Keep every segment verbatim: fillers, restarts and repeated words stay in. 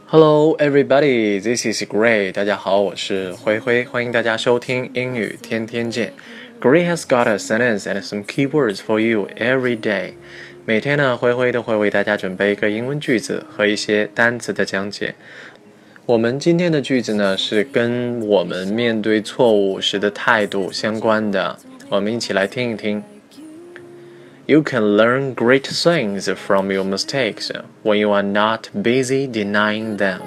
Hello, everybody. This is Gray. 大家好，我是灰灰，欢迎大家收听英语天天见。Gray has got a sentence and some keywords for you every day. 每天呢，灰灰都会为大家准备一个英文句子和一些单词的讲解。我们今天的句子呢，是跟我们面对错误时的态度相关的。我们一起来听一听。You can learn great things from your mistakes when you are not busy denying them.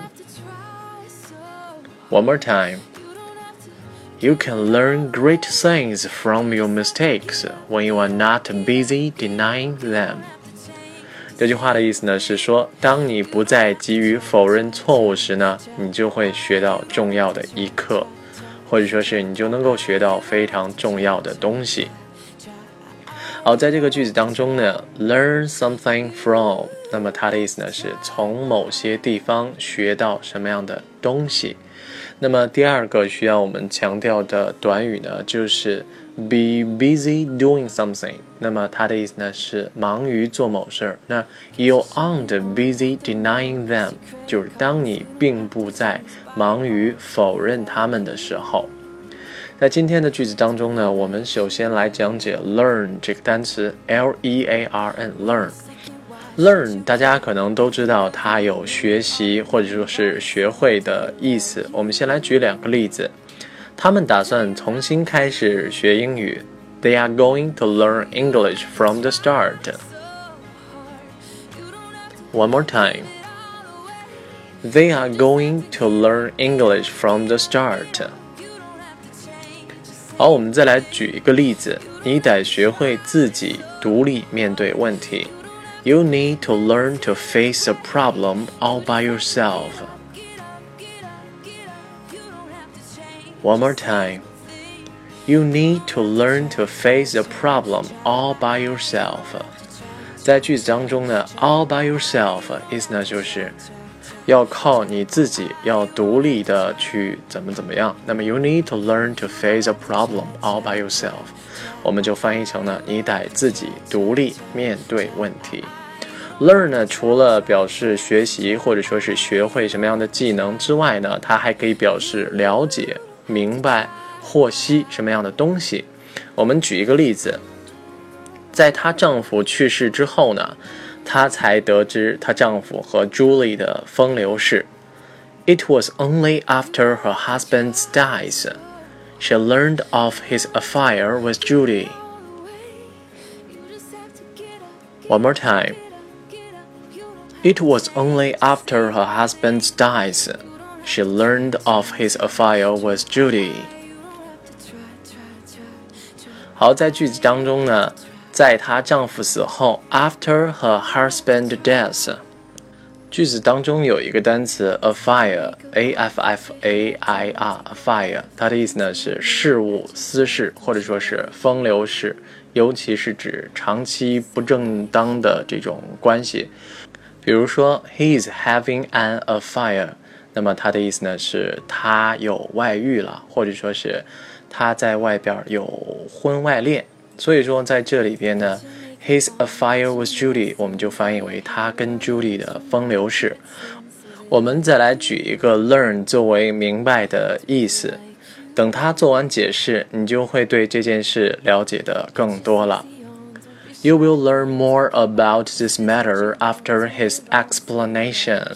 One more time. You can learn great things from your mistakes when you are not busy denying them. 这句话的意思呢是说，当你不再急于否认错误时呢，你就会学到重要的一课，或者说是你就能够学到非常重要的东西。好，在这个句子当中呢 learn something from， 那么它的意思呢是从某些地方学到什么样的东西。那么第二个需要我们强调的短语呢就是 be busy doing something， 那么它的意思呢是忙于做某事儿。那 you aren't busy denying them， 就是当你并不在忙于否认他们的时候。在今天的句子当中呢，我们首先来讲解 learn 这个单词 L E A R N learn learn 大家可能都知道它有学习或者说是学会的意思。我们先来举两个例子，他们打算重新开始学英语 They are going to learn English from the start. One more time. They are going to learn English from the start.好，我们再来举一个例子，你得学会自己独立面对问题。You need to learn to face a problem all by yourself. One more time. You need to learn to face a problem all by yourself. 在句子当中呢 all by yourself 意思呢就是要靠你自己，要独立的去怎么怎么样。那么 you need to learn to face a problem all by yourself， 我们就翻译成呢，你得自己独立面对问题。learn 呢，除了表示学习或者说是学会什么样的技能之外呢，它还可以表示了解、明白、获悉什么样的东西。我们举一个例子，在她丈夫去世之后呢，她才得知她丈夫和 Julie 的风流事。It was only after her husband's death she learned of his affair with Julie. One more time. It was only after her husband's death she learned of his affair with Julie. 好，在句子当中呢，在她丈夫死后 after her husband's death， 句子当中有一个单词 affair A F F A I R affair， 它的意思呢是事务、私事或者说是风流事，尤其是指长期不正当的这种关系。比如说 he is having an affair， 那么它的意思呢是他有外遇了，或者说是他在外边有婚外恋。所以说在这里边呢 his affair with Julie 我们就翻译为他跟 Julie 的风流事。我们再来举一个 learn 作为明白的意思，等他做完解释，你就会对这件事了解的更多了。You will learn more about this matter after his explanation.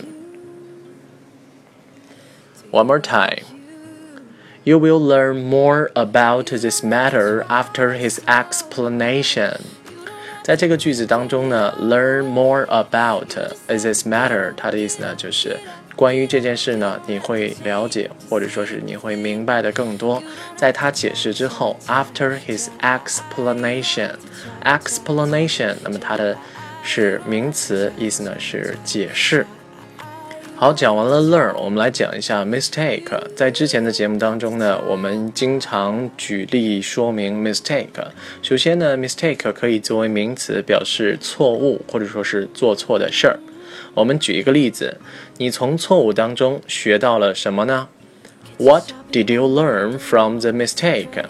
One more time.You will learn more about this matter after his explanation. 在这个句子当中呢 learn more about this matter 它的意思呢就是关于这件事呢你会了解或者说是你会明白的更多。在他解释之后 after his explanation explanation 那么它的是名词，意思呢是解释。好，讲完了 learn， 我们来讲一下 mistake。 在之前的节目当中呢，我们经常举例说明 mistake。 首先呢 mistake 可以作为名词表示错误或者说是做错的事儿。我们举一个例子，你从错误当中学到了什么呢？ What did you learn from the mistake?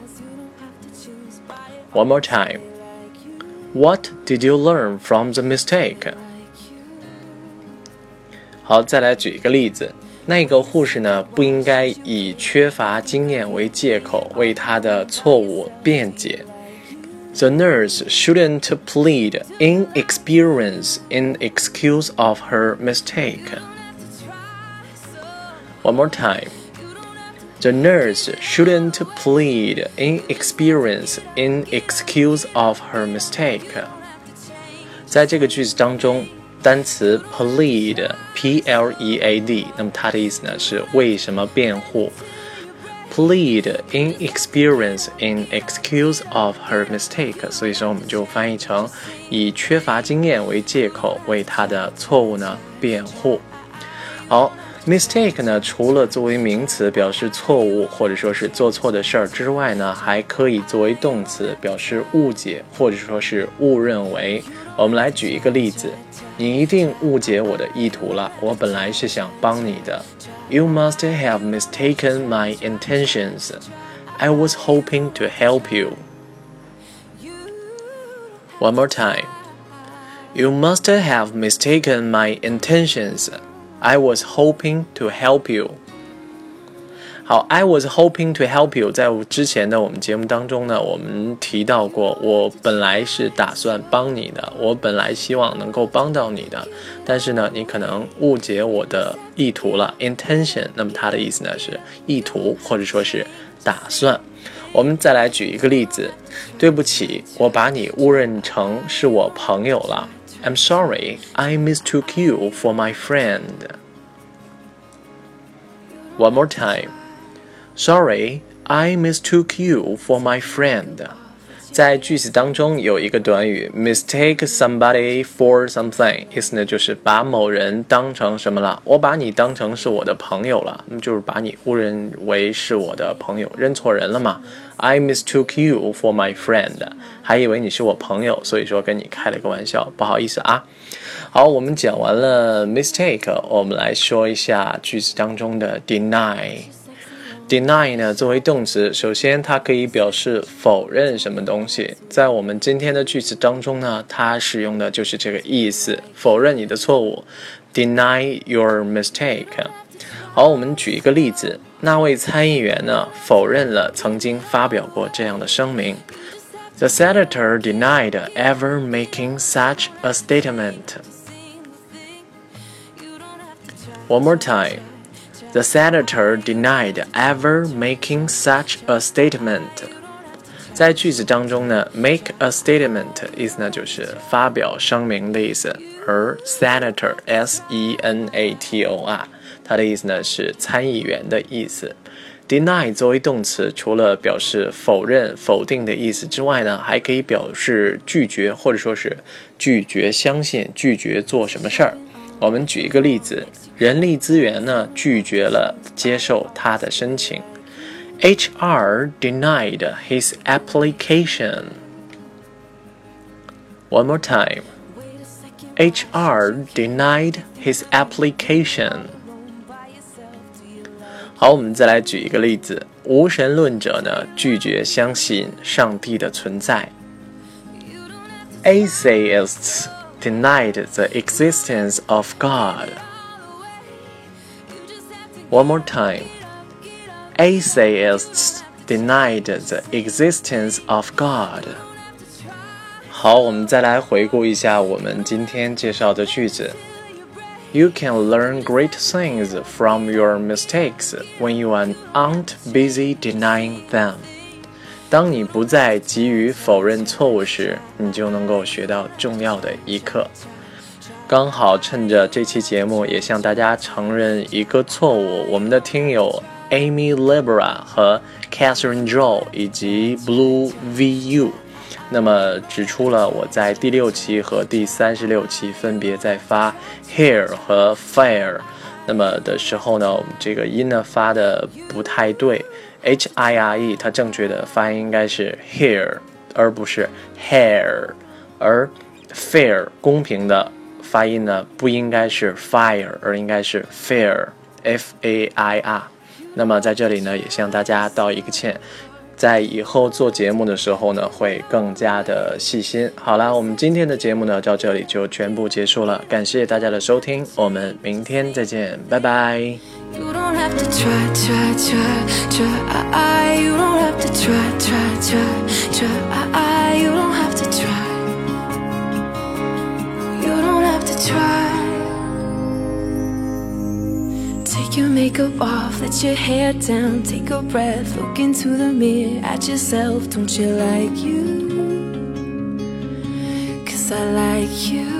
One more time. What did you learn from the mistake? 好，再来举一个例子。那个护士呢，不应该以缺乏经验为借口为他的错误辩解。The nurse shouldn't plead inexperience in excuse of her mistake. One more time. The nurse shouldn't plead inexperience in excuse of her mistake. 在这个句子当中，单词 plead P L E A D 那么它的意思呢是为什么辩护。Plead inexperience in excuse of her mistake， 所以说我们就翻译成以缺乏经验为借口为她的错误呢辩护。好， mistake 呢除了作为名词表示错误或者说是做错的事儿之外呢，还可以作为动词表示误解或者说是误认为。我们来举一个例子，你一定误解我的意图了，我本来是想帮你的。You must have mistaken my intentions. I was hoping to help you. One more time. You must have mistaken my intentions. I was hoping to help you. 好 I was hoping to help you 在之前的我们节目当中呢，我们提到过，我本来是打算帮你的，我本来希望能够帮到你的，但是呢，你可能误解我的意图了 intention， 那么它的意思呢是意图或者说是打算。我们再来举一个例子，对不起，我把你误认成是我朋友了。I'm sorry, I mistook you for my friend. One more time.Sorry, I mistook you for my friend. 在句子当中有一个短语 mistake somebody for something， 意思呢就是把某人当成什么了？我把你当成是我的朋友了，那么就是把你误认为是我的朋友，认错人了嘛。I mistook you for my friend， 还以为你是我朋友，所以说跟你开了个玩笑，不好意思啊。好，我们讲完了 mistake， 我们来说一下句子当中的 deny。Deny 呢，作为动词，首先它可以表示否认什么东西。在我们今天的句子当中呢，它使用的就是这个意思，否认你的错误 ，deny your mistake。好，我们举一个例子，那位参议员呢，否认了曾经发表过这样的声明。The senator denied ever making such a statement. One more time.The senator denied ever making such a statement. 在句子当中呢 make a statement 意思呢就是发表声明的意思，而 senator S E N A T O R 它的意思呢是参议员的意思。deny 作为动词，除了表示否认、否定的意思之外呢，还可以表示拒绝，或者说是拒绝相信、拒绝做什么事儿。我们举一个例子，人力资源呢拒绝了接受他的申请。H R denied his application. One more time. H R denied his application. 好，我们再来举一个例子，无神论者呢拒绝相信上帝的存在。Atheists denied the existence of God. One more time. Atheists denied the existence of God. 好，我们再来回顾一下我们今天介绍的句子。You can learn great things from your mistakes when you aren't busy denying them. 当你不再急于否认错误时，你就能够学到重要的一课。刚好趁着这期节目也向大家承认一个错误，我们的听友 Amy Libera 和 Catherine Joe 以及 Blue V U 那么指出了我在第六期和第三十六期分别在发 hair 和 fire 那么的时候呢，我们这个音呢发的不太对， H I R E 它正确的发音应该是 hair 而不是 hair， 而 fair 公平的发音呢不应该是 fire 而应该是 fair F A I R。 那么在这里呢也向大家道一个歉， 在以后做节目的时候呢，会更加的细心。好啦，我们今天的节目呢，到这里就全部结束了，感谢大家的收听，我们明天再见，拜拜。You don't have to try, try, try, try. You don't have to try, try, try, try. You don't have to try. You don't have to try. Take your makeup off, let your hair down, take a breath, look into the mirror at yourself. Don't you like you? 'Cause I like you.